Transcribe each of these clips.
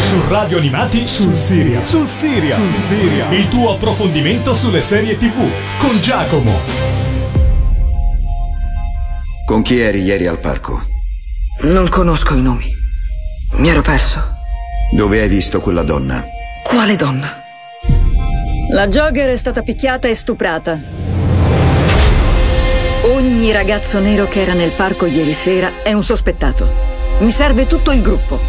Su Radio Animati sul Siria. Il tuo approfondimento sulle serie TV con Giacomo. Con chi eri ieri al parco? Non conosco i nomi. Mi ero perso. Dove hai visto quella donna? Quale donna? La jogger è stata picchiata e stuprata. Ogni ragazzo nero che era nel parco ieri sera è un sospettato. Mi serve tutto il gruppo.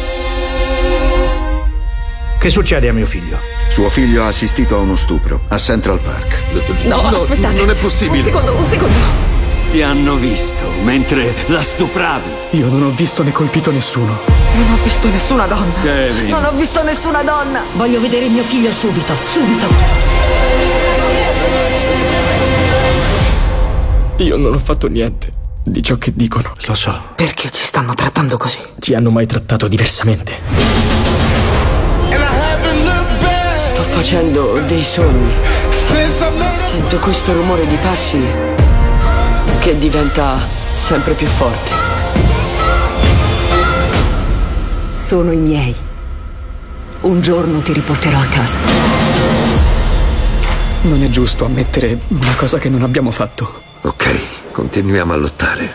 Che succede a mio figlio? Suo figlio ha assistito a uno stupro a Central Park. No, aspettate. Non è possibile. Un secondo. Ti hanno visto mentre la stupravi. Io non ho visto né colpito nessuno. Non ho visto nessuna donna. Kevin. Non ho visto nessuna donna. Voglio vedere mio figlio subito. Io non ho fatto niente di ciò che dicono. Lo so. Perché ci stanno trattando così? Ci hanno mai trattato diversamente. Sto facendo dei sogni. Sento questo rumore di passi che diventa sempre più forte. Sono i miei. Un giorno ti riporterò a casa. Non è giusto ammettere una cosa che non abbiamo fatto. Ok, continuiamo a lottare.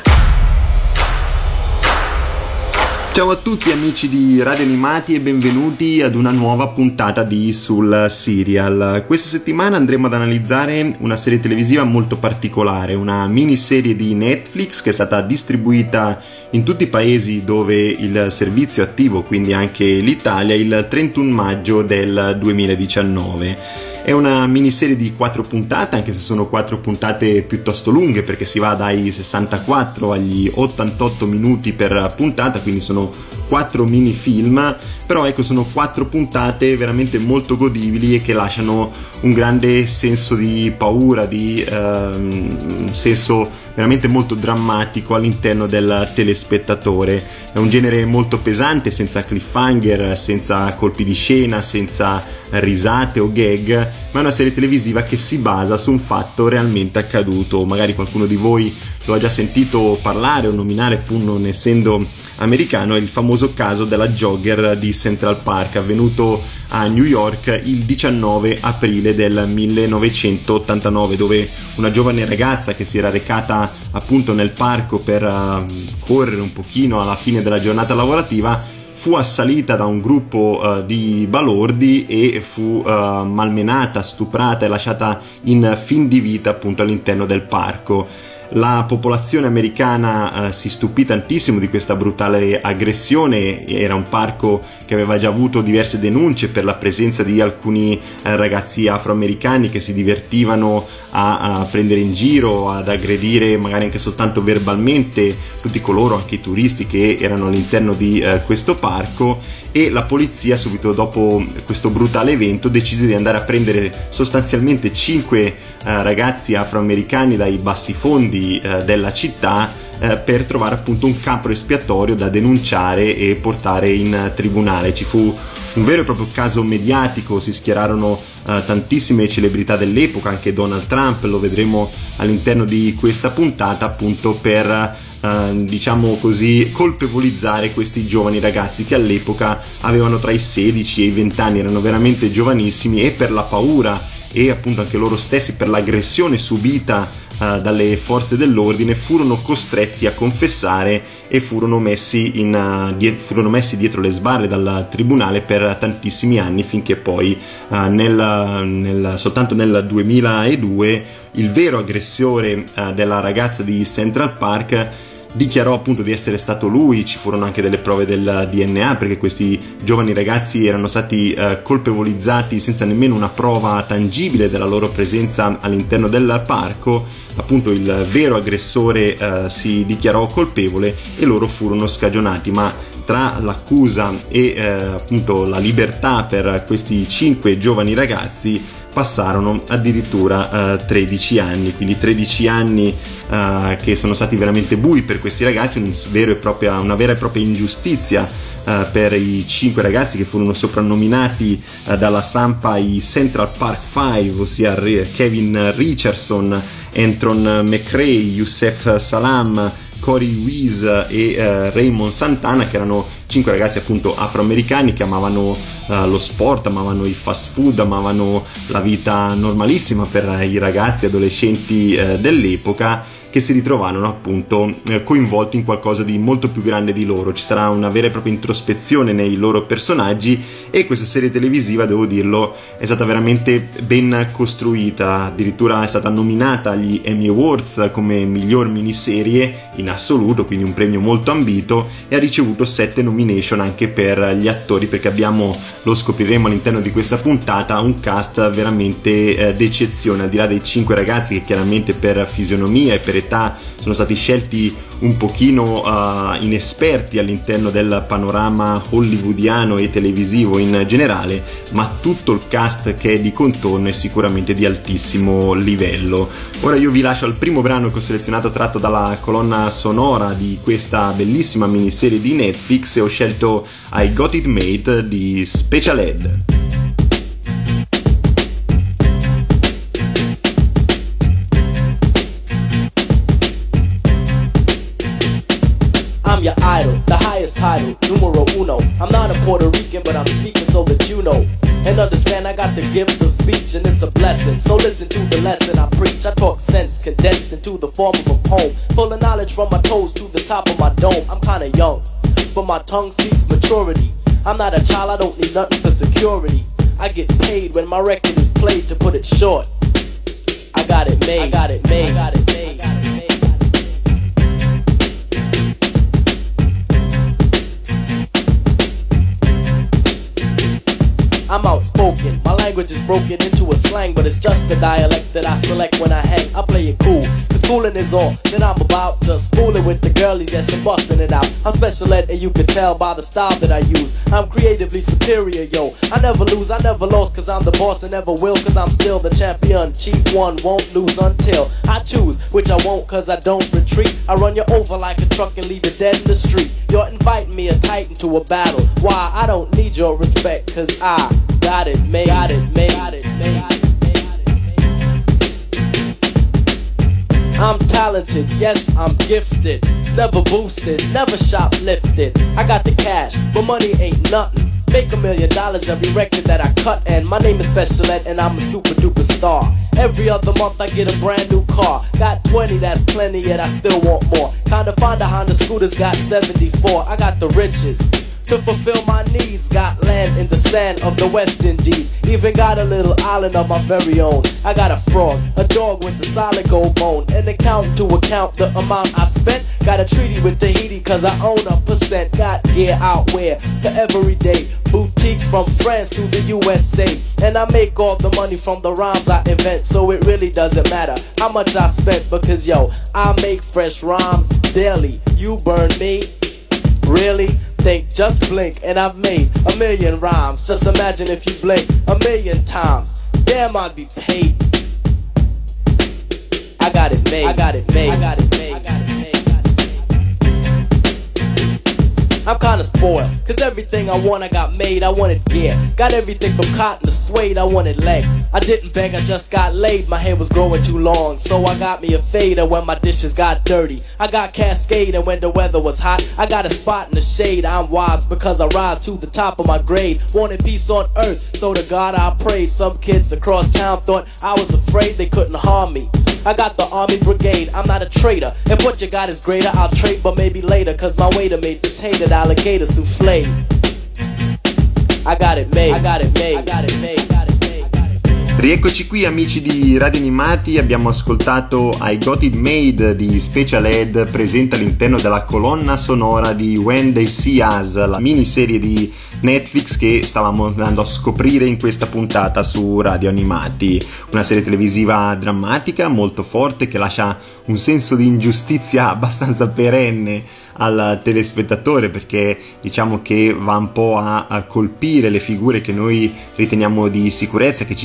Ciao a tutti amici di Radio Animati e benvenuti ad una nuova puntata di Sul Serial. Questa settimana andremo ad analizzare una serie televisiva molto particolare, una miniserie di Netflix che è stata distribuita in tutti i paesi dove il servizio è attivo, quindi anche l'Italia, il 31 maggio del 2019. È una miniserie di 4 puntate, anche se sono 4 puntate piuttosto lunghe perché si va dai 64 agli 88 minuti per puntata, quindi sono 4 mini film, però ecco, sono 4 puntate veramente molto godibili e che lasciano un grande senso di paura, di un senso veramente molto drammatico all'interno del telespettatore. È un genere molto pesante, senza cliffhanger, senza colpi di scena, senza risate o gag, ma è una serie televisiva che si basa su un fatto realmente accaduto. Magari qualcuno di voi lo ha già sentito parlare o nominare, pur non essendo americano. È il famoso caso della jogger di Central Park, avvenuto a New York il 19 aprile del 1989, dove una giovane ragazza che si era recata appunto nel parco per correre un pochino alla fine della giornata lavorativa fu assalita da un gruppo di balordi e fu malmenata, stuprata e lasciata in fin di vita appunto all'interno del parco. La popolazione americana si stupì tantissimo di questa brutale aggressione. Era un parco che aveva già avuto diverse denunce per la presenza di alcuni ragazzi afroamericani che si divertivano a prendere in giro, ad aggredire magari anche soltanto verbalmente tutti coloro, anche i turisti che erano all'interno di questo parco, e la polizia subito dopo questo brutale evento decise di andare a prendere sostanzialmente 5 ragazzi afroamericani dai bassifondi della città per trovare appunto un capro espiatorio da denunciare e portare in tribunale. Ci fu un vero e proprio caso mediatico, si schierarono tantissime celebrità dell'epoca, anche Donald Trump, lo vedremo all'interno di questa puntata, appunto per diciamo così colpevolizzare questi giovani ragazzi che all'epoca avevano tra i 16 e i 20 anni, erano veramente giovanissimi, e per la paura e appunto anche loro stessi per l'aggressione subita dalle forze dell'ordine furono costretti a confessare e furono messi dietro le sbarre dal tribunale per tantissimi anni, finché poi soltanto nel 2002 il vero aggressore della ragazza di Central Park dichiarò appunto di essere stato lui. Ci furono anche delle prove del DNA, perché questi giovani ragazzi erano stati colpevolizzati senza nemmeno una prova tangibile della loro presenza all'interno del parco. Appunto il vero aggressore si dichiarò colpevole e loro furono scagionati, ma tra l'accusa e appunto la libertà per questi 5 giovani ragazzi passarono addirittura 13 anni, quindi 13 anni che sono stati veramente bui per questi ragazzi, una vera e propria ingiustizia per i 5 ragazzi che furono soprannominati dalla stampa i Central Park Five, ossia Kevin Richardson, Anton McRae, Youssef Salam, Cory Weiss e Raymond Santana, che erano 5 ragazzi appunto afroamericani che amavano lo sport, amavano il fast food, amavano la vita normalissima per i ragazzi adolescenti dell'epoca, che si ritrovarono appunto coinvolti in qualcosa di molto più grande di loro. Ci sarà una vera e propria introspezione nei loro personaggi, e questa serie televisiva, devo dirlo, è stata veramente ben costruita. Addirittura è stata nominata agli Emmy Awards come miglior miniserie in assoluto, quindi un premio molto ambito, e ha ricevuto 7 nomination anche per gli attori, perché abbiamo, lo scopriremo all'interno di questa puntata, un cast veramente d'eccezione. Al di là dei 5 ragazzi che chiaramente per fisionomia e per età sono stati scelti un pochino inesperti all'interno del panorama hollywoodiano e televisivo in generale, ma tutto il cast che è di contorno è sicuramente di altissimo livello. Ora io vi lascio al primo brano che ho selezionato, tratto dalla colonna sonora di questa bellissima miniserie di Netflix, e ho scelto I Got It Made di Special Ed. I'm your idol, the highest title, numero uno. I'm not a Puerto Rican, but I'm speaking so that you know. And understand I got the gift of speech, and it's a blessing. So listen to the lesson I preach. I talk sense condensed into the form of a poem, full of knowledge from my toes to the top of my dome. I'm kinda young, but my tongue speaks maturity. I'm not a child, I don't need nothing for security. I get paid when my record is played, to put it short. I got it made, I got it made, I got it made, I got it made. I'm outspoken, my language is broken into a slang, but it's just the dialect that I select when I hang. I play it cool, cause fooling is all that I'm about. Just fooling with the girlies, yes, and busting it out. I'm special ed, and you can tell by the style that I use. I'm creatively superior, yo. I never lose, I never lost, cause I'm the boss and never will, cause I'm still the champion. Chief one, won't lose until I choose, which I won't, cause I don't retreat. I run you over like a truck and leave you dead in the street. You're inviting me a titan to a battle. Why? I don't need your respect, cause I got it made, got it made, got it made, got it made, got it made. I'm talented, yes, I'm gifted. Never boosted, never shoplifted. I got the cash, but money ain't nothing. Make $1 million every record that I cut, and my name is Special Ed, and I'm a super duper star. Every other month I get a brand new car. Got 20, that's plenty, yet I still want more. Kinda find a Honda Scooter's got 74. I got the riches to fulfill my needs. Got land in the sand of the West Indies. Even got a little island of my very own. I got a frog, a dog with a solid gold bone, an accountant to account the amount I spent. Got a treaty with Tahiti cause I own a percent. Got gear out wear for every day. Boutiques from France to the USA. And I make all the money from the rhymes I invent. So it really doesn't matter how much I spent, because yo, I make fresh rhymes daily. You burn me? Really? Think, just blink, and I've made 1 million rhymes. Just imagine if you blink 1 million times. Damn, I'd be paid. I got it made, I got it made, I got it made, I got it made. I'm kinda spoiled, cause everything I want I got made. I wanted gear, got everything from cotton to suede. I wanted leg, I didn't beg, I just got laid. My hair was growing too long, so I got me a fader when my dishes got dirty. I got Cascade, and when the weather was hot, I got a spot in the shade. I'm wise because I rise to the top of my grade. Wanted peace on earth, so to God I prayed. Some kids across town thought I was afraid they couldn't harm me. I got the army brigade, I'm not a traitor. If what you got is greater, I'll trade, but maybe later, cause my waiter made potato alligator souffle. I got it made, I got it made, I got it made, I got it made, I got it made. Rieccoci qui amici di Radio Animati, abbiamo ascoltato I Got It Made di Special Ed, presente all'interno della colonna sonora di When They See Us, la miniserie di Netflix che stavamo andando a scoprire in questa puntata su Radio Animati. Una serie televisiva drammatica, molto forte, che lascia un senso di ingiustizia abbastanza perenne al telespettatore, perché diciamo che va un po' a colpire le figure che noi riteniamo di sicurezza, che ci impongono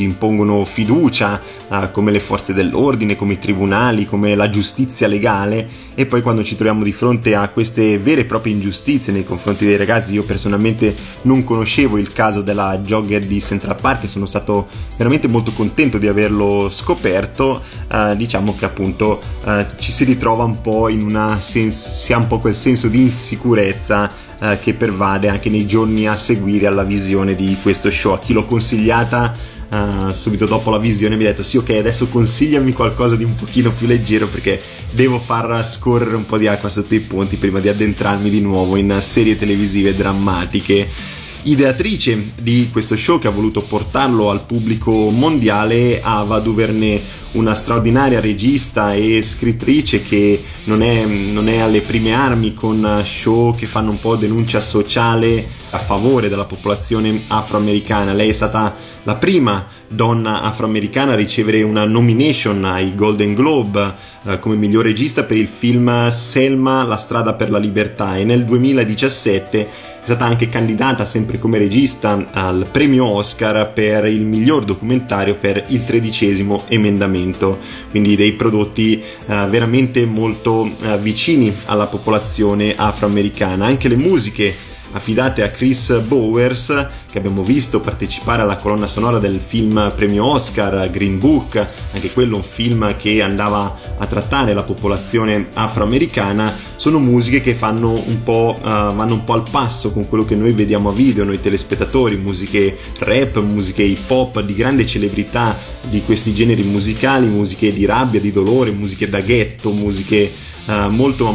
impongono fiducia, come le forze dell'ordine, come i tribunali, come la giustizia legale, e poi quando ci troviamo di fronte a queste vere e proprie ingiustizie nei confronti dei ragazzi. Io personalmente non conoscevo il caso della jogger di Central Park e sono stato veramente molto contento di averlo scoperto. Diciamo che appunto ci si ritrova un po' si ha un po' quel senso di insicurezza che pervade anche nei giorni a seguire alla visione di questo show. A chi l'ho consigliata subito dopo la visione mi ha detto: sì, ok, adesso consigliami qualcosa di un pochino più leggero perché devo far scorrere un po' di acqua sotto i ponti prima di addentrarmi di nuovo in serie televisive drammatiche. Ideatrice di questo show, che ha voluto portarlo al pubblico mondiale, Ava DuVernay, una straordinaria regista e scrittrice che non è alle prime armi con show che fanno un po' denuncia sociale a favore della popolazione afroamericana. Lei è stata la prima donna afroamericana a ricevere una nomination ai Golden Globe come miglior regista per il film Selma, la strada per la libertà, e nel 2017 è stata anche candidata, sempre come regista, al premio Oscar per il miglior documentario per il 13° emendamento, quindi dei prodotti veramente molto vicini alla popolazione afroamericana. Anche le musiche affidate a Chris Bowers, che abbiamo visto partecipare alla colonna sonora del film premio Oscar Green Book, anche quello un film che andava a trattare la popolazione afroamericana, sono musiche che vanno un po' al passo con quello che noi vediamo a video, noi telespettatori, musiche rap, musiche hip hop di grande celebrità di questi generi musicali, musiche di rabbia, di dolore, musiche da ghetto, musiche molto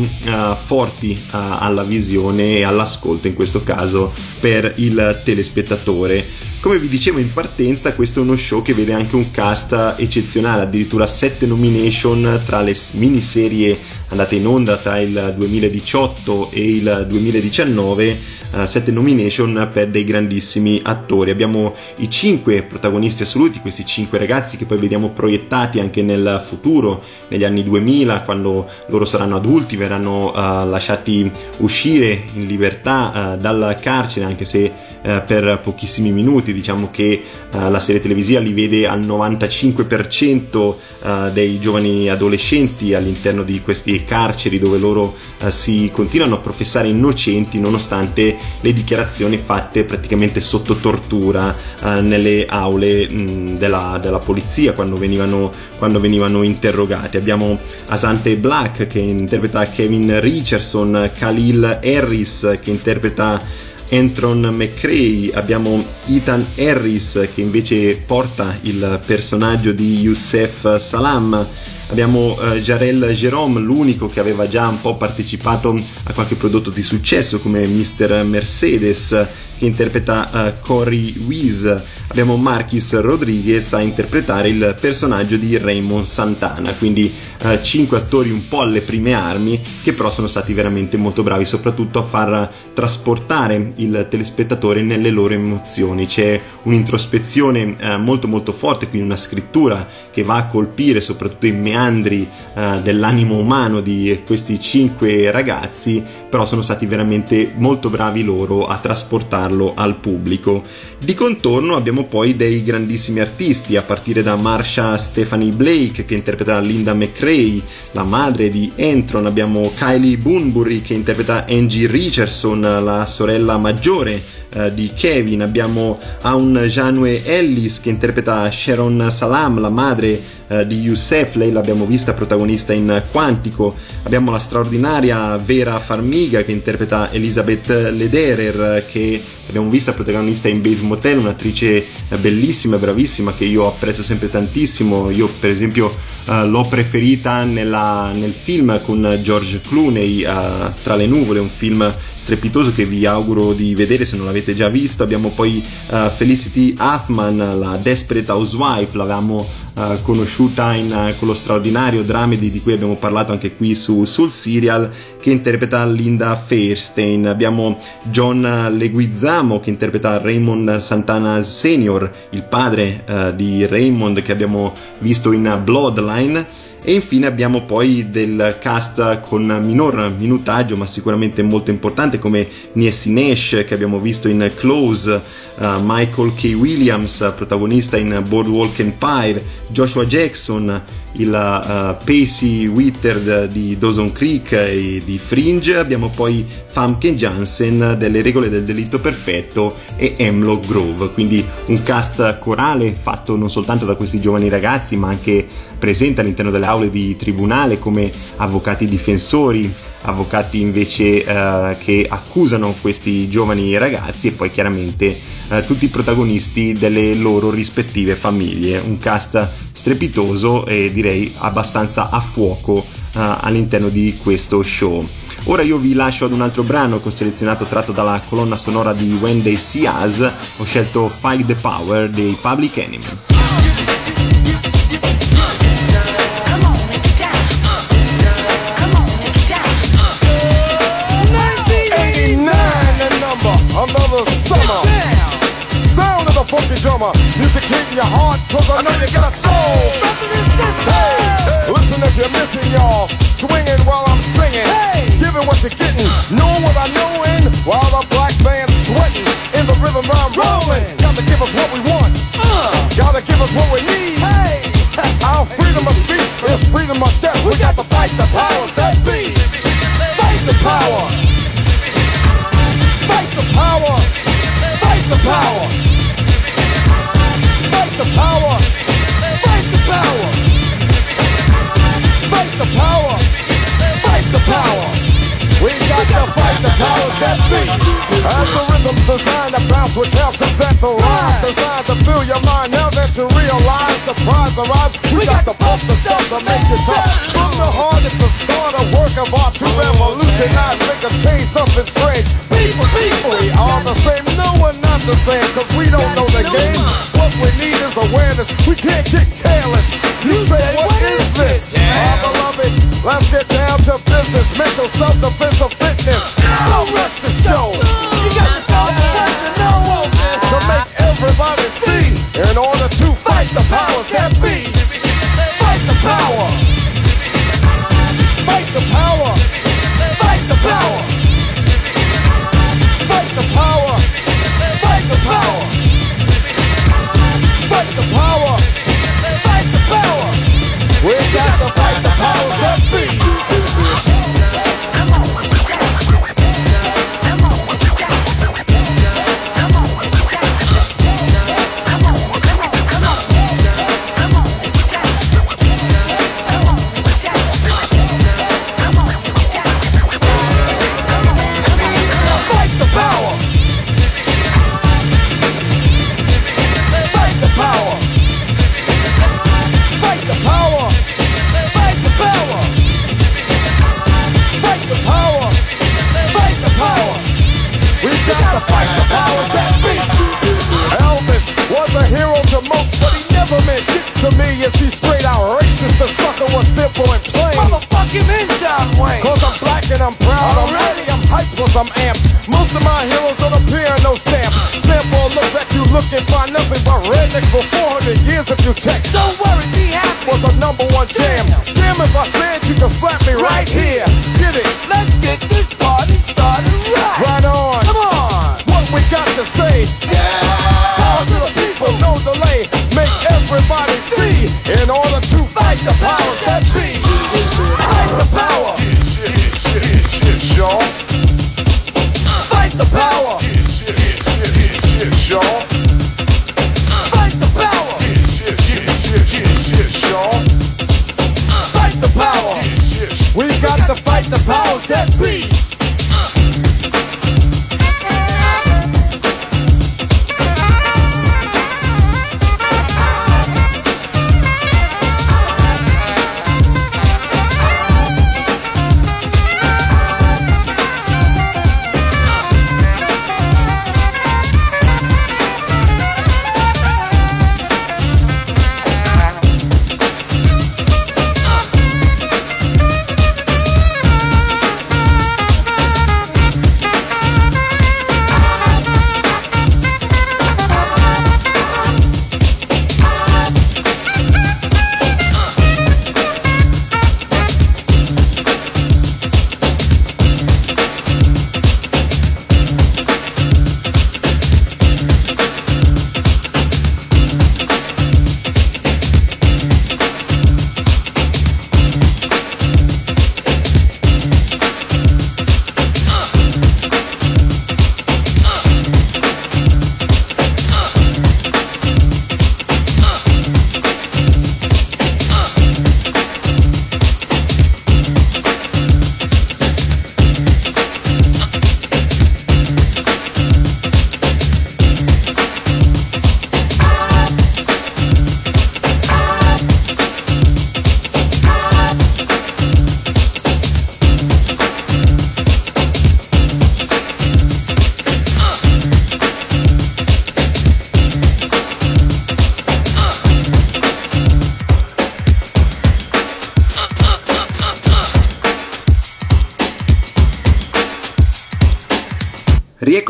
forti alla visione e all'ascolto, in questo caso per il telespettatore. Come vi dicevo in partenza, questo è uno show che vede anche un cast eccezionale, addirittura 7 nomination tra le miniserie andate in onda tra il 2018 e il 2019, 7 nomination per dei grandissimi attori. Abbiamo i 5 protagonisti assoluti, questi 5 ragazzi che poi vediamo proiettati anche nel futuro, negli anni 2000, quando loro saranno adulti, verranno lasciati uscire in libertà dal carcere, anche se per pochissimi minuti. Diciamo che la serie televisiva li vede al 95% dei giovani adolescenti all'interno di questi carceri, dove loro si continuano a professare innocenti nonostante le dichiarazioni fatte praticamente sotto tortura nelle aule della polizia quando venivano interrogati. Abbiamo Asante Black che interpreta Kevin Richardson, Khalil Harris che interpreta Antron McCray, abbiamo Ethan Harris che invece porta il personaggio di Youssef Salam, abbiamo Jarrell Jerome, l'unico che aveva già un po' partecipato a qualche prodotto di successo come Mr. Mercedes, che interpreta Corey Weiss. Abbiamo Marquis Rodriguez a interpretare il personaggio di Raymond Santana, quindi 5 attori un po' alle prime armi, che però sono stati veramente molto bravi, soprattutto a far trasportare il telespettatore nelle loro emozioni. C'è un'introspezione molto forte, quindi una scrittura che va a colpire soprattutto i meandri dell'animo umano di questi 5 ragazzi, però sono stati veramente molto bravi loro a trasportarlo al pubblico. Di contorno abbiamo poi dei grandissimi artisti, a partire da Marsha Stephanie Blake che interpreta Linda McCray, la madre di Antron. Abbiamo Kylie Bunbury che interpreta Angie Richardson, la sorella maggiore di Kevin. Abbiamo Aun Janue Ellis che interpreta Sharon Salam, la madre di Youssef, lei l'abbiamo vista protagonista in Quantico. Abbiamo la straordinaria Vera Farmiga che interpreta Elizabeth Lederer, che abbiamo vista protagonista in Bates Motel, un'attrice bellissima e bravissima che io apprezzo sempre tantissimo. Io per esempio l'ho preferita nel film con George Clooney, Tra le nuvole, un film strepitoso che vi auguro di vedere se non l'avete già visto. Abbiamo poi Felicity Huffman, la Desperate Housewife, l'avevamo conosciuta con lo straordinario Dramedy di cui abbiamo parlato anche qui sul Serial, che interpreta Linda Fairstein. Abbiamo John Leguizamo che interpreta Raymond Santana Senior, il padre di Raymond che abbiamo visto in Bloodline. E infine abbiamo poi del cast con minor minutaggio ma sicuramente molto importante, come Niecy Nash, che abbiamo visto in Close, Michael K. Williams, protagonista in Boardwalk Empire, Joshua Jackson, il Pacey Witter di Dawson Creek e di Fringe. Abbiamo poi Famke Janssen delle Regole del Delitto Perfetto e Hemlock Grove, quindi un cast corale fatto non soltanto da questi giovani ragazzi ma anche presente all'interno delle aule di tribunale come avvocati difensori, avvocati invece che accusano questi giovani ragazzi, e poi chiaramente tutti i protagonisti delle loro rispettive famiglie. Un cast strepitoso e direi abbastanza a fuoco all'interno di questo show. Ora io vi lascio ad un altro brano che ho selezionato tratto dalla colonna sonora di When They See Us. Ho scelto Fight the Power dei Public Enemy. Another summer, sound of the funky drummer, music hitting your heart, cause I know you got a soul. Hey, listen if you're missing, y'all, swinging while I'm singing, giving what you're getting, knowing what I know in, while the black band's sweating, in the rhythm I'm rolling. Gotta give us what we want, gotta give us what we need. Our freedom of speech is freedom of death. We got to fight the powers that be. Fight the power. Fight the power! Fight the power! Fight the power! Fight the power! Fight the power! Fight the power! We got to fight the powers that be! As the rhythm's designed to bounce with calcium that the rhyme designed to fill your mind. Now that you realize the prize arrives, we got to pump the stuff to make it tough. From the heart it's a start, a work of art to revolutionize, make a change, something strange. People, we are the same, no we're not the same, cause we don't know the game. What we need is awareness, we can't get careless. You say, what is this? Our beloved, let's get down to business. Mental self-defense of fitness. Don't rush the show. You got to know what you know to make everybody see. In order to fight the powers that be. Fight the power. Fight the power. Fight the power. Fight the power. Fight the power. Fight the power. Fight the power. We got to fight the powers that be. To me, is he straight out racist? The sucker was simple and plain. Motherfucking in John Wayne. Cause I'm black and I'm proud. I'm ready, I'm hyped, plus I'm amped. Most of my heroes don't appear in no stamp. Sample look back, you look and find nothing but rednecks for 400 years if you check. Don't worry, be happy. Was a #1 jam. Damn if I said you could slap me right here. Get it? Let's get this party started right. Right on. Come on. What we got to say? Yeah. Power to the people, no delay. Make everybody see. In order to fight the powers that be. Fight the power. Y'all. Fight the power. Y'all. Fight the power. Y'all. Fight the power. We got to fight the powers that be.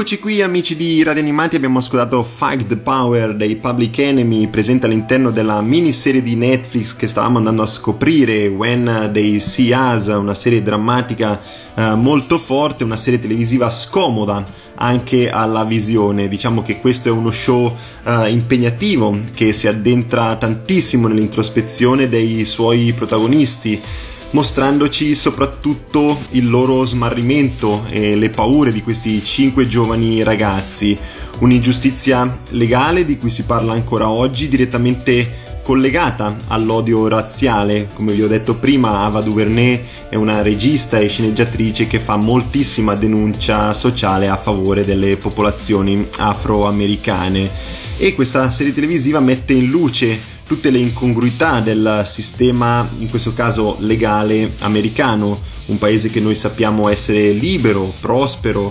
Eccoci qui amici di Radio Animati, abbiamo ascoltato Fight the Power dei Public Enemy, presente all'interno della miniserie di Netflix che stavamo andando a scoprire, When They See Us, una serie drammatica molto forte, una serie televisiva scomoda anche alla visione. Diciamo che questo è uno show impegnativo che si addentra tantissimo nell'introspezione dei suoi protagonisti, mostrandoci soprattutto il loro smarrimento e le paure di questi 5 giovani ragazzi, un'ingiustizia legale di cui si parla ancora oggi, direttamente collegata all'odio razziale. Come vi ho detto prima, Ava DuVernay è una regista e sceneggiatrice che fa moltissima denuncia sociale a favore delle popolazioni afroamericane, e questa serie televisiva mette in luce tutte le incongruità del sistema, in questo caso legale americano, un paese che noi sappiamo essere libero, prospero,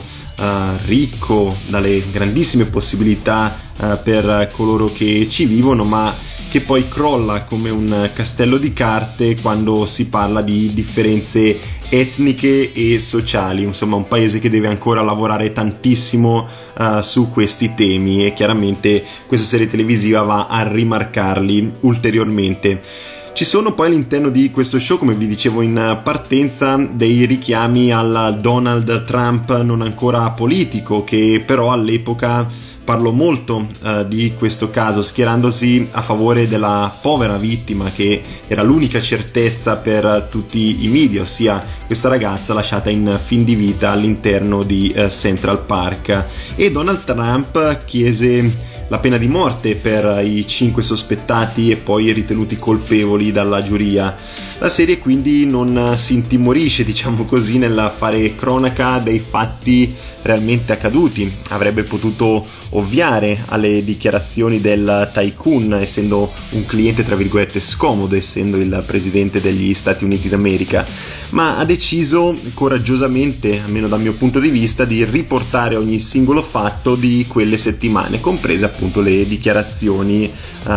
ricco, dalle grandissime possibilità per coloro che ci vivono, ma che poi crolla come un castello di carte quando si parla di differenze etniche e sociali. Insomma, un paese che deve ancora lavorare tantissimo su questi temi, e chiaramente questa serie televisiva va a rimarcarli ulteriormente. Ci sono poi all'interno di questo show, come vi dicevo in partenza, dei richiami al Donald Trump non ancora politico, che però all'epoca parlò molto di questo caso, schierandosi a favore della povera vittima, che era l'unica certezza per tutti i media, ossia questa ragazza lasciata in fin di vita all'interno di Central Park. E Donald Trump chiese la pena di morte per i 5 sospettati e poi ritenuti colpevoli dalla giuria. La serie quindi non si intimorisce, diciamo così, nel fare cronaca dei fatti realmente accaduti. Avrebbe potuto ovviare alle dichiarazioni del tycoon, essendo un cliente tra virgolette scomodo, essendo il presidente degli Stati Uniti d'America, ma ha deciso coraggiosamente, almeno dal mio punto di vista, di riportare ogni singolo fatto di quelle settimane, comprese appunto le dichiarazioni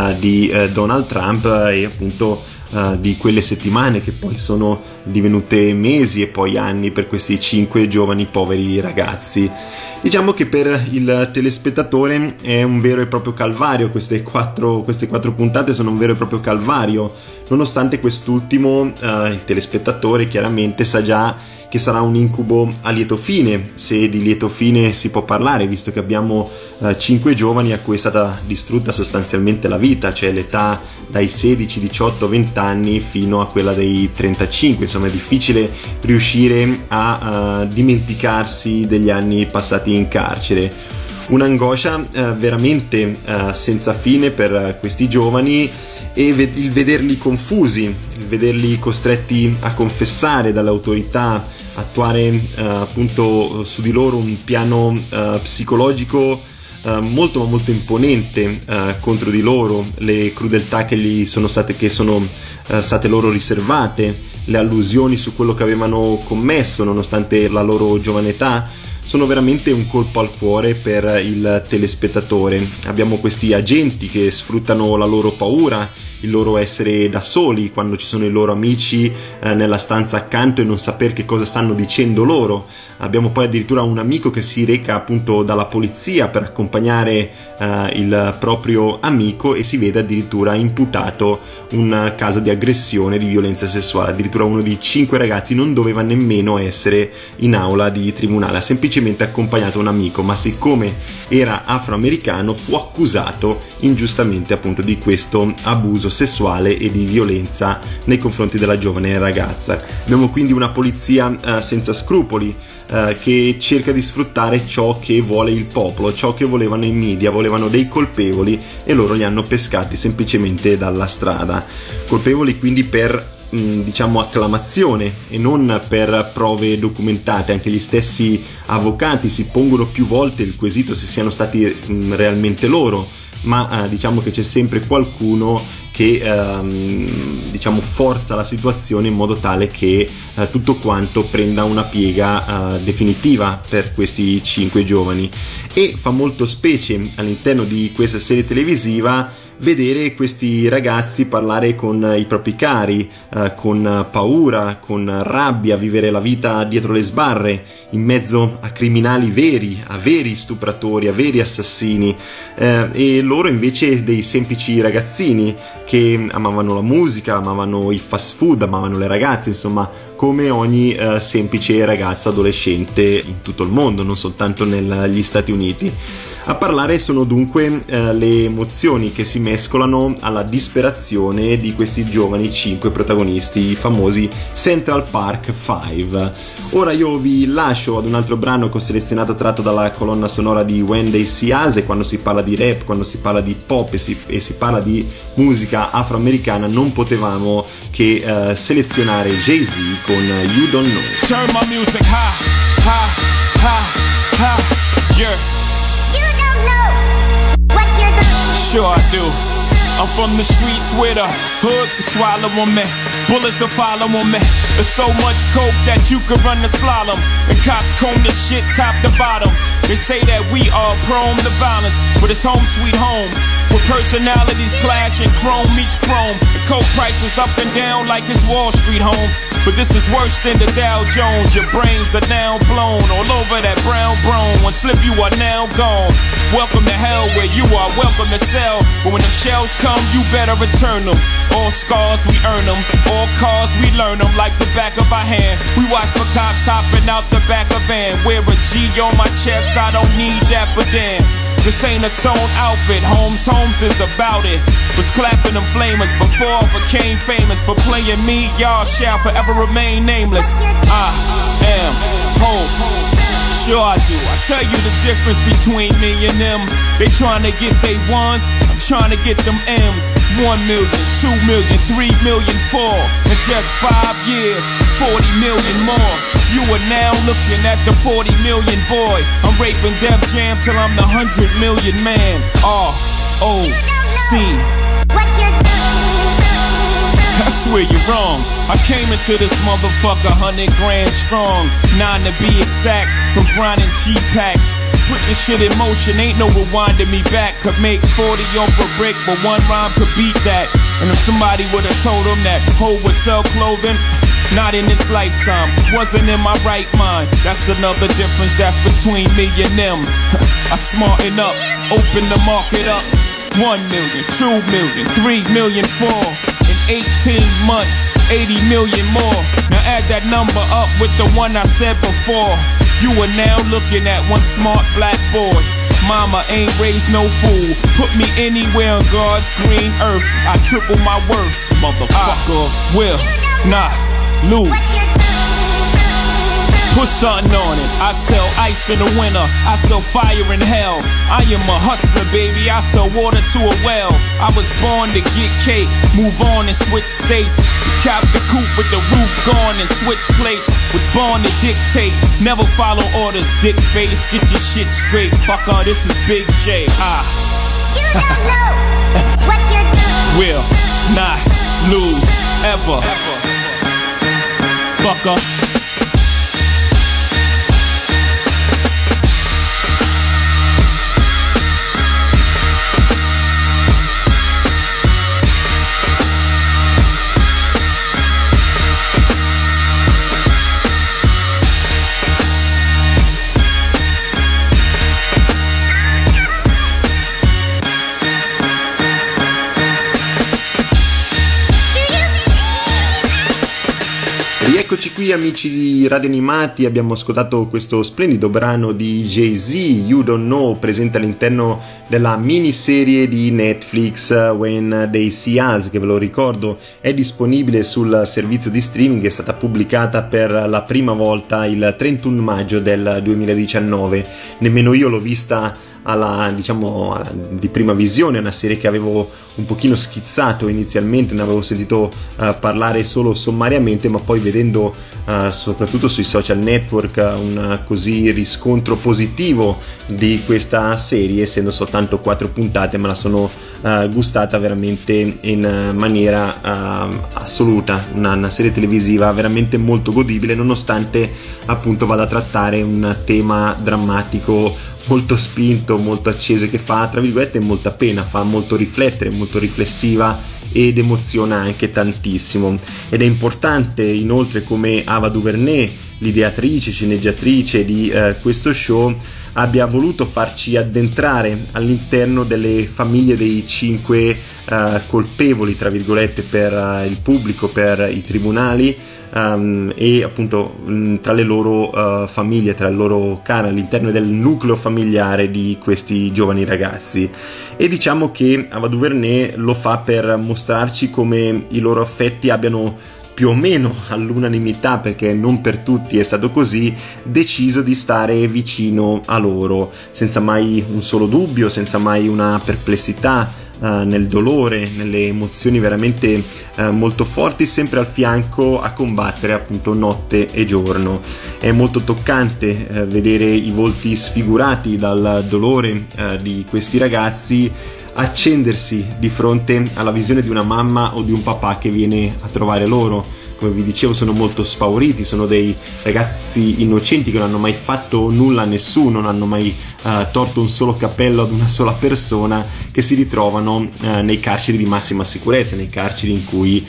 di Donald Trump e appunto di quelle settimane che poi sono divenute mesi e poi anni per questi 5 giovani poveri ragazzi. Diciamo che per il telespettatore è un vero e proprio calvario, queste quattro puntate sono un vero e proprio calvario, nonostante quest'ultimo il telespettatore chiaramente sa già che sarà un incubo a lieto fine, se di lieto fine si può parlare, visto che abbiamo 5 giovani a cui è stata distrutta sostanzialmente la vita, cioè l'età dai 16, 18, 20 anni fino a quella dei 35. Insomma, è difficile riuscire a dimenticarsi degli anni passati in carcere. Un'angoscia veramente senza fine per questi giovani, e il vederli confusi, il vederli costretti a confessare dalle autorità, attuare appunto su di loro un piano psicologico molto imponente contro di loro, le crudeltà che sono state loro riservate, le allusioni su quello che avevano commesso nonostante la loro giovane età, sono veramente un colpo al cuore per il telespettatore. Abbiamo questi agenti che sfruttano la loro paura, il loro essere da soli quando ci sono i loro amici nella stanza accanto e non saper che cosa stanno dicendo loro. Abbiamo poi addirittura un amico che si reca appunto dalla polizia per accompagnare il proprio amico, e si vede addirittura imputato un caso di aggressione, di violenza sessuale. Addirittura uno di 5 ragazzi non doveva nemmeno essere in aula di tribunale, ha semplicemente accompagnato un amico, ma siccome era afroamericano fu accusato ingiustamente appunto di questo abuso sessuale e di violenza nei confronti della giovane ragazza. Abbiamo quindi una polizia senza scrupoli, che cerca di sfruttare ciò che vuole il popolo, ciò che volevano i media, volevano dei colpevoli e loro li hanno pescati semplicemente dalla strada. Colpevoli quindi per diciamo acclamazione e non per prove documentate. Anche gli stessi avvocati si pongono più volte il quesito se siano stati realmente loro, ma diciamo che c'è sempre qualcuno che diciamo forza la situazione in modo tale che tutto quanto prenda una piega definitiva per questi 5 giovani. E fa molto specie all'interno di questa serie televisiva vedere questi ragazzi parlare con i propri cari, con paura, con rabbia, vivere la vita dietro le sbarre, in mezzo a criminali veri, a veri stupratori, a veri assassini, e loro invece dei semplici ragazzini che amavano la musica, amavano i fast food, amavano le ragazze, insomma come ogni semplice ragazzo adolescente in tutto il mondo, non soltanto negli Stati Uniti. A parlare sono dunque le emozioni che si mescolano alla disperazione di questi giovani 5 protagonisti, i famosi Central Park 5. Ora io vi lascio ad un altro brano che ho selezionato tratto dalla colonna sonora di When They See Us, e quando si parla di rap, quando si parla di pop e si parla di musica afroamericana non potevamo che selezionare Jay-Z con You Don't Know. Turn my music high, high, high, high, yeah. You don't know what you're doing. Sure I do. I'm from the streets where the hood can swallow on me. Bullets will follow on me. There's so much coke that you could run the slalom. And cops comb this shit top to bottom. They say that we are prone to violence, but it's home sweet home, with personalities clashing, chrome meets chrome. The coke prices up and down like it's Wall Street home. But this is worse than the Dow Jones. Your brains are now blown all over that brown brone. One slip you are now gone. Welcome to hell where you are welcome to sell. But when them shells come you better return them. All scars we earn them, all cars we learn them like the back of our hand. We watch for cops hopping out the back of van. Wear a G on my chest, I don't need that but damn. This ain't a sewn outfit, Holmes is about it. Was clapping them flamers before I became famous. For playing me, y'all shall forever remain nameless. I am Hope. Sure I do. I tell you the difference between me and them. They trying to get they ones, I'm trying to get them M's. 1 million, 2 million, 3 million, 4. In just 5 years, 40 million more. You are now looking at the 40 million boy. I'm raping Def Jam till I'm the 100 million man. R-O-C. I swear you're wrong. I came into this motherfucker 100 grand strong. 9 to be exact, from grinding G-packs. Put this shit in motion, ain't no rewinding me back. Could make 40 off a brick, but one rhyme could beat that. And if somebody would've told them that Ho would sell clothing, not in this lifetime, wasn't in my right mind. That's another difference that's between me and them. I smarten up, open the market up. 1 million, 2 million, 3 million, 4. In 18 months, 80 million more. Now add that number up with the one I said before. You are now looking at one smart black boy. Mama ain't raised no fool. Put me anywhere on God's green earth, I triple my worth. Motherfucker, will not lose. Put something on it. I sell ice in the winter, I sell fire in hell. I am a hustler, baby, I sell water to a well. I was born to get cake, move on and switch states. Cop the coupe with the roof gone and switch plates. Was born to dictate, never follow orders, dick face. Get your shit straight, fucker, this is Big J. You don't know what you're doing. Will not lose ever. Fucker. Eccoci qui amici di Radio Animati, abbiamo ascoltato questo splendido brano di Jay-Z, You Don't Know, presente all'interno della miniserie di Netflix When They See Us, che ve lo ricordo è disponibile sul servizio di streaming, è stata pubblicata per la prima volta il 31 maggio del 2019, nemmeno io l'ho vista di prima visione. È una serie che avevo un pochino schizzato inizialmente, ne avevo sentito parlare solo sommariamente, ma poi vedendo soprattutto sui social network un così riscontro positivo di questa serie, essendo soltanto 4 puntate, me la sono gustata veramente in maniera assoluta. Una serie televisiva veramente molto godibile, nonostante appunto vada a trattare un tema drammatico molto spinto, molto molto acceso e che fa, tra virgolette, molta pena, fa molto riflettere, molto riflessiva ed emoziona anche tantissimo. Ed è importante inoltre come Ava DuVernay, l'ideatrice, sceneggiatrice di questo show, abbia voluto farci addentrare all'interno delle famiglie dei 5 colpevoli, tra virgolette, per il pubblico, per i tribunali, e appunto tra le loro famiglie, tra le loro cari, all'interno del nucleo familiare di questi giovani ragazzi. E diciamo che Ava DuVernay lo fa per mostrarci come i loro affetti abbiano più o meno all'unanimità, perché non per tutti è stato così, deciso di stare vicino a loro, senza mai un solo dubbio, senza mai una perplessità nel dolore, nelle emozioni veramente molto forti, sempre al fianco a combattere appunto notte e giorno. È molto toccante vedere i volti sfigurati dal dolore di questi ragazzi accendersi di fronte alla visione di una mamma o di un papà che viene a trovare loro. Come vi dicevo, sono molto spauriti, sono dei ragazzi innocenti che non hanno mai fatto nulla a nessuno, non hanno mai torto un solo cappello ad una sola persona, che si ritrovano nei carceri di massima sicurezza, nei carceri in cui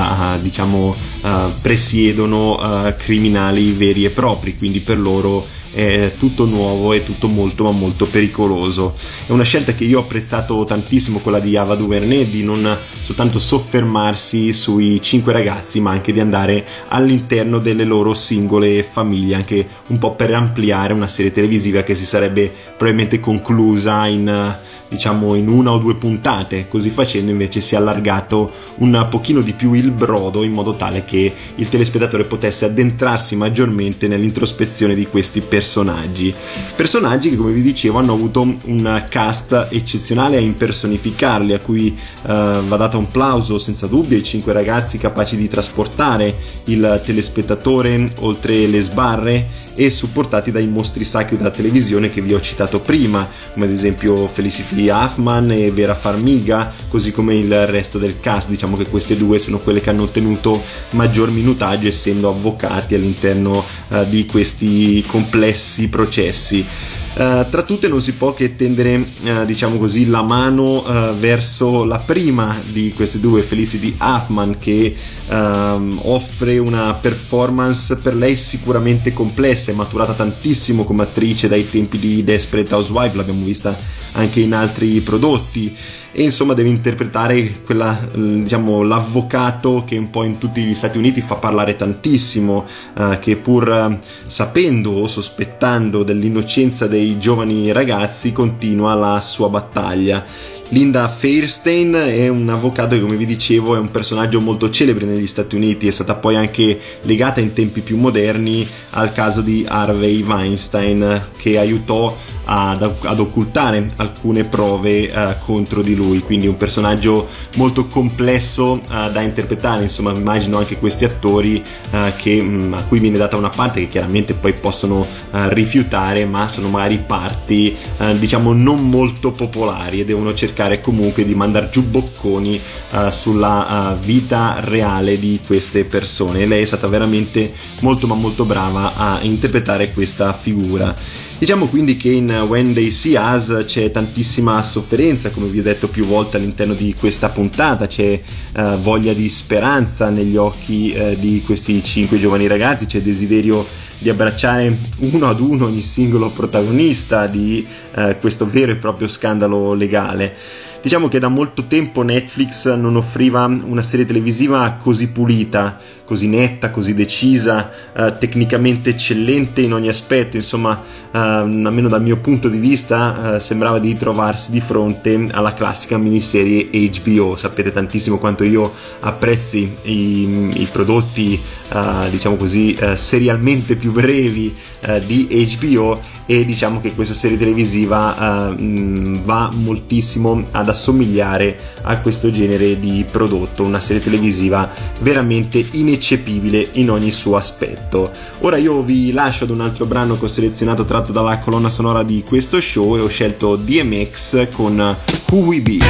presiedono criminali veri e propri, quindi per loro è tutto nuovo e tutto molto ma molto pericoloso. È una scelta che io ho apprezzato tantissimo, quella di Ava DuVernay, di non soltanto soffermarsi sui 5 ragazzi, ma anche di andare all'interno delle loro singole famiglie, anche un po' per ampliare una serie televisiva che si sarebbe probabilmente conclusa in 1 o 2 puntate. Così facendo invece si è allargato un pochino di più il brodo, in modo tale che il telespettatore potesse addentrarsi maggiormente nell'introspezione di questi personaggi che, come vi dicevo, hanno avuto un cast eccezionale a impersonificarli, a cui va dato un plauso senza dubbio ai 5 ragazzi capaci di trasportare il telespettatore oltre le sbarre e supportati dai mostri sacri della televisione che vi ho citato prima, come ad esempio Felicity Huffman e Vera Farmiga, così come il resto del cast. Diciamo che queste due sono quelle che hanno ottenuto maggior minutaggio, essendo avvocati all'interno di questi complessi processi. Tra tutte non si può che tendere la mano verso la prima di queste due, Felicity Huffman, che offre una performance per lei sicuramente complessa, è maturata tantissimo come attrice dai tempi di Desperate Housewives, l'abbiamo vista anche in altri prodotti, e insomma deve interpretare l'avvocato che un po' in tutti gli Stati Uniti fa parlare tantissimo, che pur sapendo o sospettando dell'innocenza dei giovani ragazzi continua la sua battaglia. Linda Fairstein è un avvocato che, come vi dicevo, è un personaggio molto celebre negli Stati Uniti, è stata poi anche legata in tempi più moderni al caso di Harvey Weinstein, che aiutò ad occultare alcune prove contro di lui, quindi un personaggio molto complesso da interpretare. Insomma, immagino anche questi attori a cui viene data una parte che chiaramente poi possono rifiutare, ma sono magari parti non molto popolari, e devono cercare comunque di mandar giù bocconi sulla vita reale di queste persone. E lei è stata veramente molto ma molto brava a interpretare questa figura. Diciamo quindi che in When They See Us c'è tantissima sofferenza, come vi ho detto più volte all'interno di questa puntata, c'è voglia di speranza negli occhi di questi 5 giovani ragazzi, c'è desiderio di abbracciare uno ad uno ogni singolo protagonista di questo vero e proprio scandalo legale. Diciamo che da molto tempo Netflix non offriva una serie televisiva così pulita, così netta, così decisa, tecnicamente eccellente in ogni aspetto. Insomma, almeno dal mio punto di vista, sembrava di trovarsi di fronte alla classica miniserie HBO. Sapete tantissimo quanto io apprezzi i prodotti, serialmente più brevi di HBO, e diciamo che questa serie televisiva va moltissimo ad assomigliare a questo genere di prodotto, una serie televisiva veramente ineccepibile in ogni suo aspetto. Ora io vi lascio ad un altro brano che ho selezionato tratto dalla colonna sonora di questo show, e ho scelto DMX con Who We Be.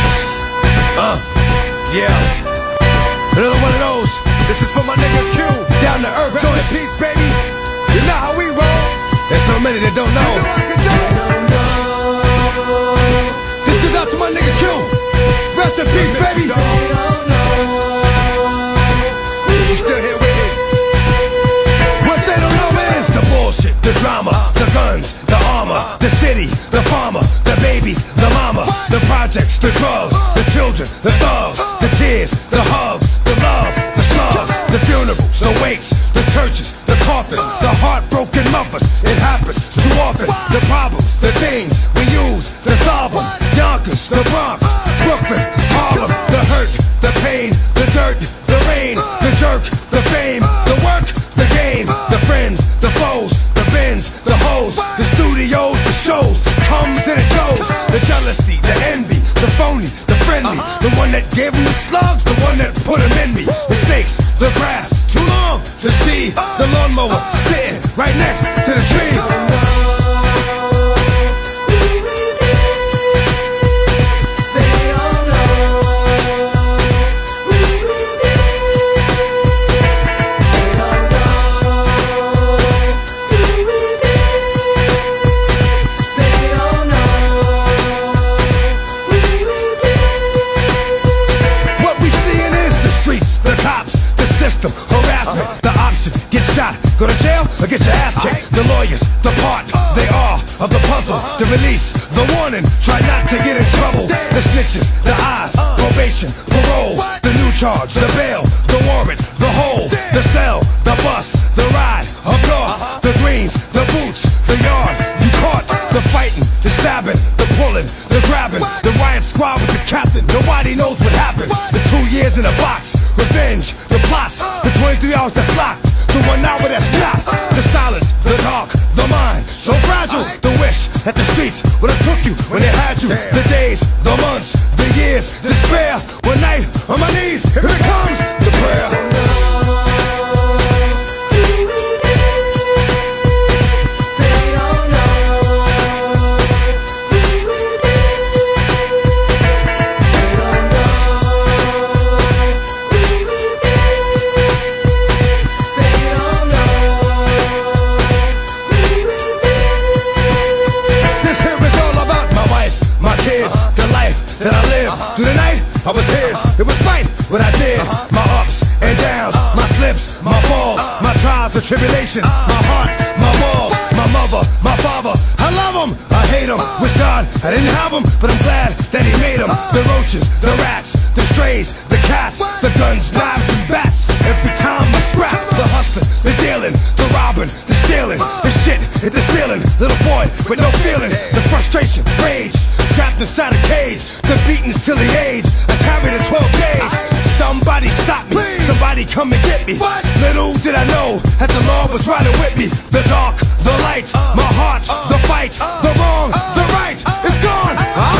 Yeah, another one of those. This is for my nigga Q, down to earth, joy and peace, baby. You know how we roll. There's so many that don't know. the Bronx, Brooklyn, Harlem, the hurt, the pain, the dirt, the rain, the jerk, the fame, the work, the game, the friends, the foes, the bins, the hoes, the studios, the shows, comes and it goes, the jealousy, the envy, the phony, the friendly, the one that gave him the slugs, the one that put him in me, the snakes, the grass, too long to see, the lawnmower sitting right next to the tree. Harassment, the option, get shot, go to jail, or get your ass kicked. The lawyers, the part, they are of the puzzle. The release, the warning, try not to get in trouble. The snitches, the eyes, probation, parole. The new charge, the bail, the warrant, the hold. The cell, the bus, the ride, up north. The greens, the boots, the yard, you caught. The fighting, the stabbing, the pulling, the grabbing. The riot squad with the captain, nobody knows what happened. The 2 years in a box, revenge, the plots, the 23 hours that's locked, the 1 hour that's not. The silence, the dark, the mind, so fragile. The wish that the streets would have took you when they had you. The days, the months, the years, despair. One night on my knees, here it comes, the prayer. That I lived through the night, I was his. It was right what I did. My ups and downs, my slips, my falls, my trials and tribulations, my heart, my walls, my mother, my father. I love him, I hate him. Wish God I didn't have him, but I'm glad that he made him. The roaches, the rats, the strays, the cats, the guns, knives and bats. Every time I scrap, the hustling, the dealing, the robbing, the stealing, the shit hit the ceiling. Little boy with no feelings, the frustration, rage, trapped inside a cage. The beatings till the age I carried a 12 gauge. Somebody stop me, somebody come and get me. Little did I know that the Lord was riding with me. The dark, the light, my heart, the fight, the wrong, the right, it's gone.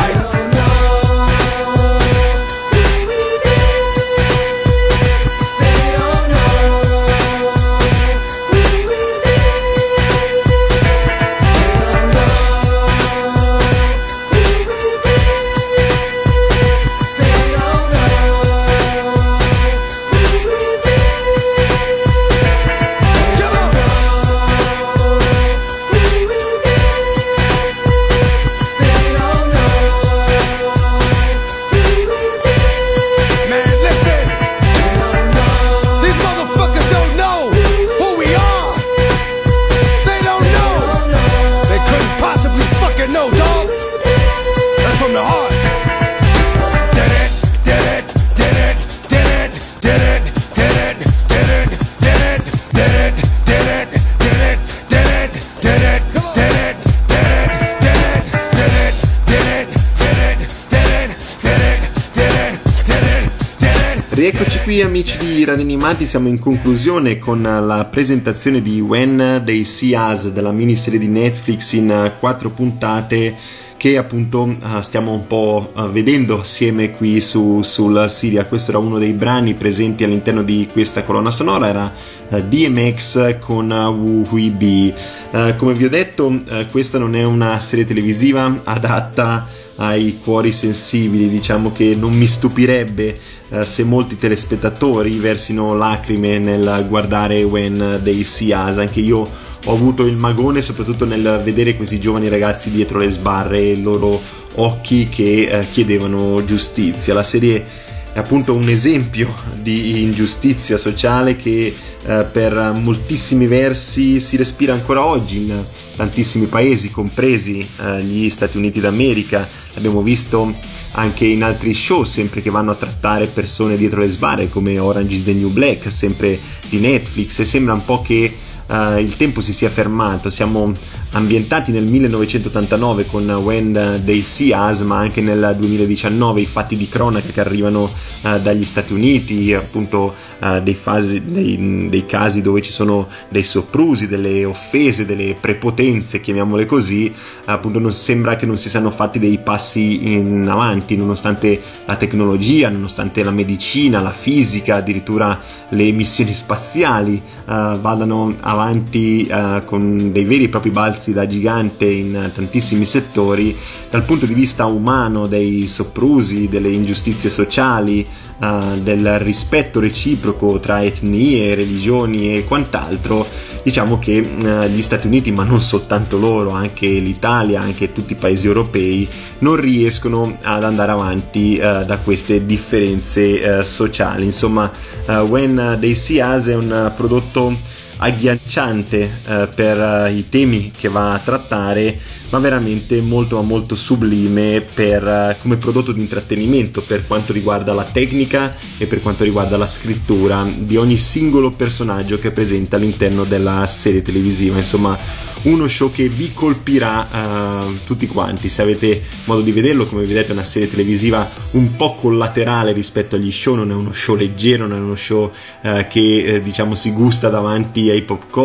Rieccoci qui amici di Radio Animati, siamo in conclusione con la presentazione di When They See Us della miniserie di Netflix in 4 puntate che appunto stiamo un po' vedendo assieme qui sul serial. Questo era uno dei brani presenti all'interno di questa colonna sonora, era DMX con Who We Be. Come vi ho detto, questa non è una serie televisiva adatta ai cuori sensibili, diciamo che non mi stupirebbe se molti telespettatori versino lacrime nel guardare When They See Us. Anche io ho avuto il magone soprattutto nel vedere questi giovani ragazzi dietro le sbarre e i loro occhi che chiedevano giustizia. La serie è appunto un esempio di ingiustizia sociale che per moltissimi versi si respira ancora oggi in tantissimi paesi, compresi gli Stati Uniti d'America. Abbiamo visto anche in altri show sempre che vanno a trattare persone dietro le sbarre, come Orange is the New Black, sempre di Netflix, e sembra un po' che il tempo si sia fermato, siamo ambientati nel 1989 con When They See Us, ma anche nel 2019 i fatti di cronaca che arrivano dagli Stati Uniti, appunto dei casi dove ci sono dei soprusi, delle offese, delle prepotenze, chiamiamole così. Appunto non sembra che non si siano fatti dei passi in avanti, nonostante la tecnologia, nonostante la medicina, la fisica, addirittura le missioni spaziali vadano avanti con dei veri e propri balzi da gigante in tantissimi settori. Dal punto di vista umano, dei soprusi, delle ingiustizie sociali, del rispetto reciproco tra etnie, religioni e quant'altro, diciamo che gli Stati Uniti, ma non soltanto loro, anche l'Italia, anche tutti i paesi europei, non riescono ad andare avanti da queste differenze sociali. Insomma, When They See Us è un prodotto agghiacciante per i temi che va a trattare, ma veramente molto sublime come prodotto di intrattenimento, per quanto riguarda la tecnica e per quanto riguarda la scrittura di ogni singolo personaggio che è presente all'interno della serie televisiva. Insomma, uno show che vi colpirà tutti quanti. Se avete modo di vederlo, come vedete è una serie televisiva un po' collaterale rispetto agli show, non è uno show leggero, non è uno show che diciamo si gusta davanti ai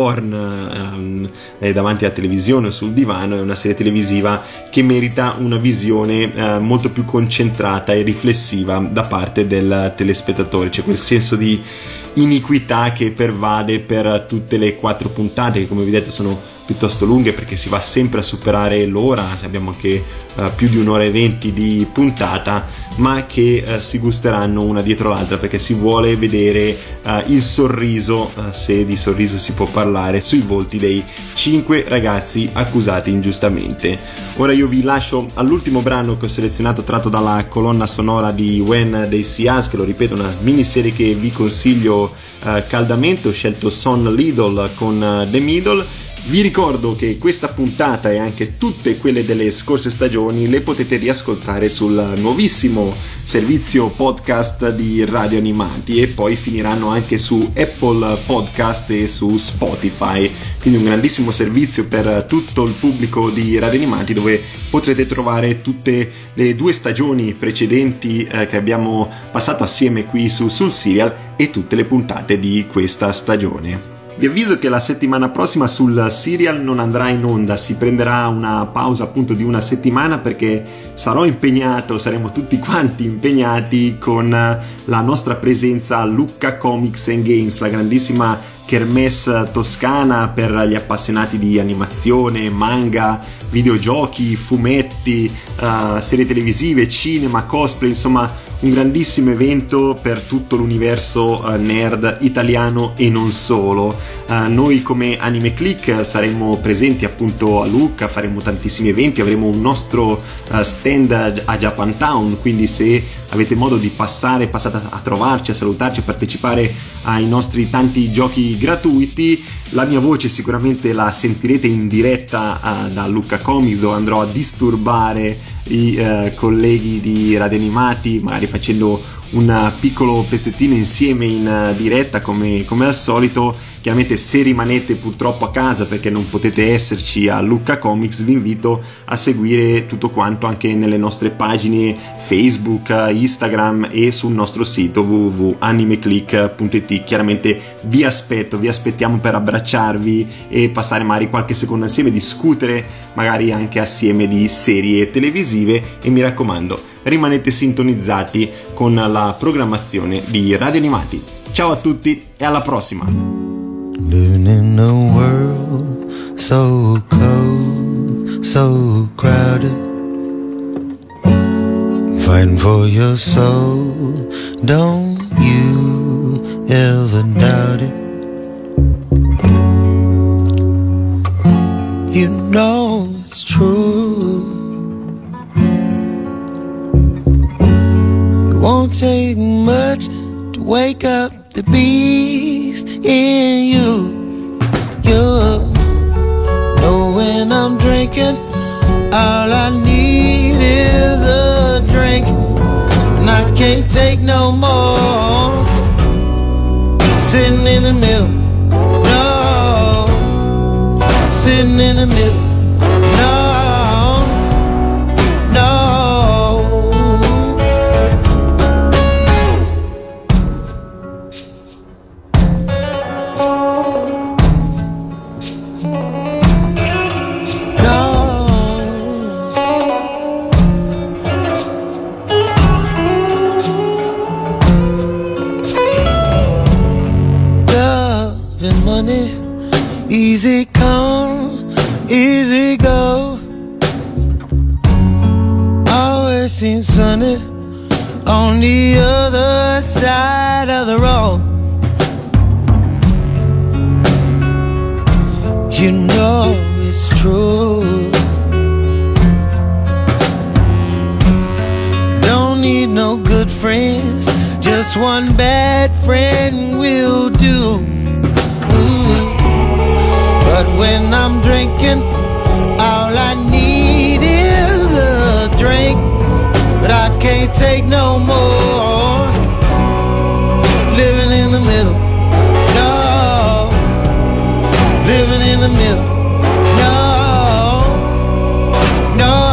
popcorn, davanti alla televisione o sul divano. È una serie televisiva che merita una visione molto più concentrata e riflessiva da parte del telespettatore. C'è quel senso di iniquità che pervade per tutte le 4 puntate, che come vedete sono piuttosto lunghe perché si va sempre a superare l'ora, abbiamo anche più di 1 ora e 20 di puntata, ma che si gusteranno una dietro l'altra perché si vuole vedere il sorriso, se di sorriso si può parlare, sui volti dei 5 ragazzi accusati ingiustamente. Ora io vi lascio all'ultimo brano che ho selezionato, tratto dalla colonna sonora di When They See Us, che lo ripeto è una miniserie che vi consiglio caldamente. Ho scelto Son Lidl con The Middle. Vi ricordo che questa puntata e anche tutte quelle delle scorse stagioni le potete riascoltare sul nuovissimo servizio podcast di Radio Animati, e poi finiranno anche su Apple Podcast e su Spotify, quindi un grandissimo servizio per tutto il pubblico di Radio Animati, dove potrete trovare tutte le 2 stagioni precedenti che abbiamo passato assieme qui sul Serial e tutte le puntate di questa stagione. Vi avviso che la settimana prossima sul Serial non andrà in onda, si prenderà una pausa appunto di una settimana perché sarò impegnato, saremo tutti quanti impegnati con la nostra presenza a Lucca Comics and Games, la grandissima kermesse toscana per gli appassionati di animazione, manga, videogiochi, fumetti, serie televisive, cinema, cosplay, insomma un grandissimo evento per tutto l'universo nerd italiano e non solo. Noi come Anime Click saremo presenti appunto a Lucca, faremo tantissimi eventi, avremo un nostro stand a Japantown, quindi se avete modo di passate a trovarci, a salutarci, a partecipare ai nostri tanti giochi gratuiti, la mia voce sicuramente la sentirete in diretta da Lucca Comics, dove andrò a disturbare i colleghi di Radio Animati, magari facendo un piccolo pezzettino insieme in diretta come al solito. Chiaramente se rimanete purtroppo a casa perché non potete esserci a Lucca Comics, vi invito a seguire tutto quanto anche nelle nostre pagine Facebook, Instagram e sul nostro sito www.animeclick.it. Chiaramente vi aspettiamo per abbracciarvi e passare magari qualche secondo insieme, discutere magari anche assieme di serie televisive, e mi raccomando rimanete sintonizzati con la programmazione di Radio Animati. Ciao a tutti e alla prossima! Living in a world so cold, so crowded, fighting for your soul, don't you ever doubt it. You know it's true. It won't take much to wake up the beast in you. You know when I'm drinking, all I need is a drink, and I can't take no more. Sitting in the middle, no, sitting in the middle. seems sunny on the other side of the road. You know it's true. Don't need no good friends, just one bad friend will do. Ooh. But when I'm drinking, all I need is a drink. But I can't take no more living in the middle. No, living in the middle. No, no.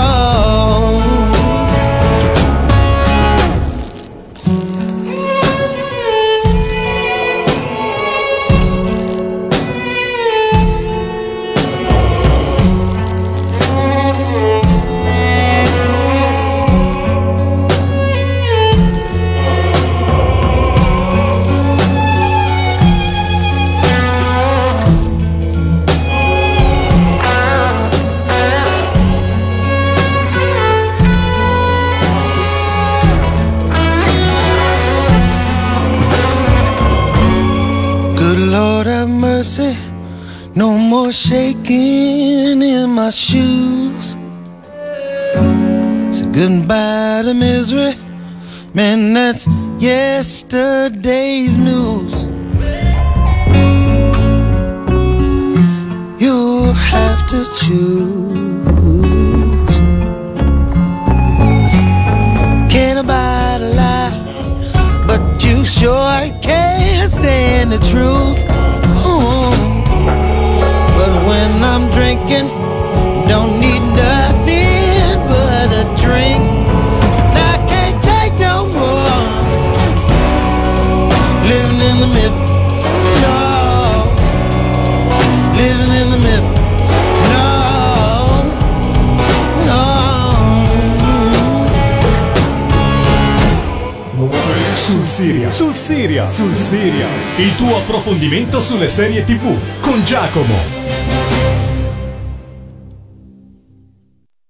Lord have mercy, no more shaking in my shoes. Say goodbye to misery, man, that's yesterday's news. You'll have to choose. Can't abide a lie, but you sure can't stand the truth. But when I'm drinking, don't need nothing but a drink. And I can't take no more living in the middle. No, living in the middle. Sul Siria, il tuo approfondimento sulle serie TV con Giacomo.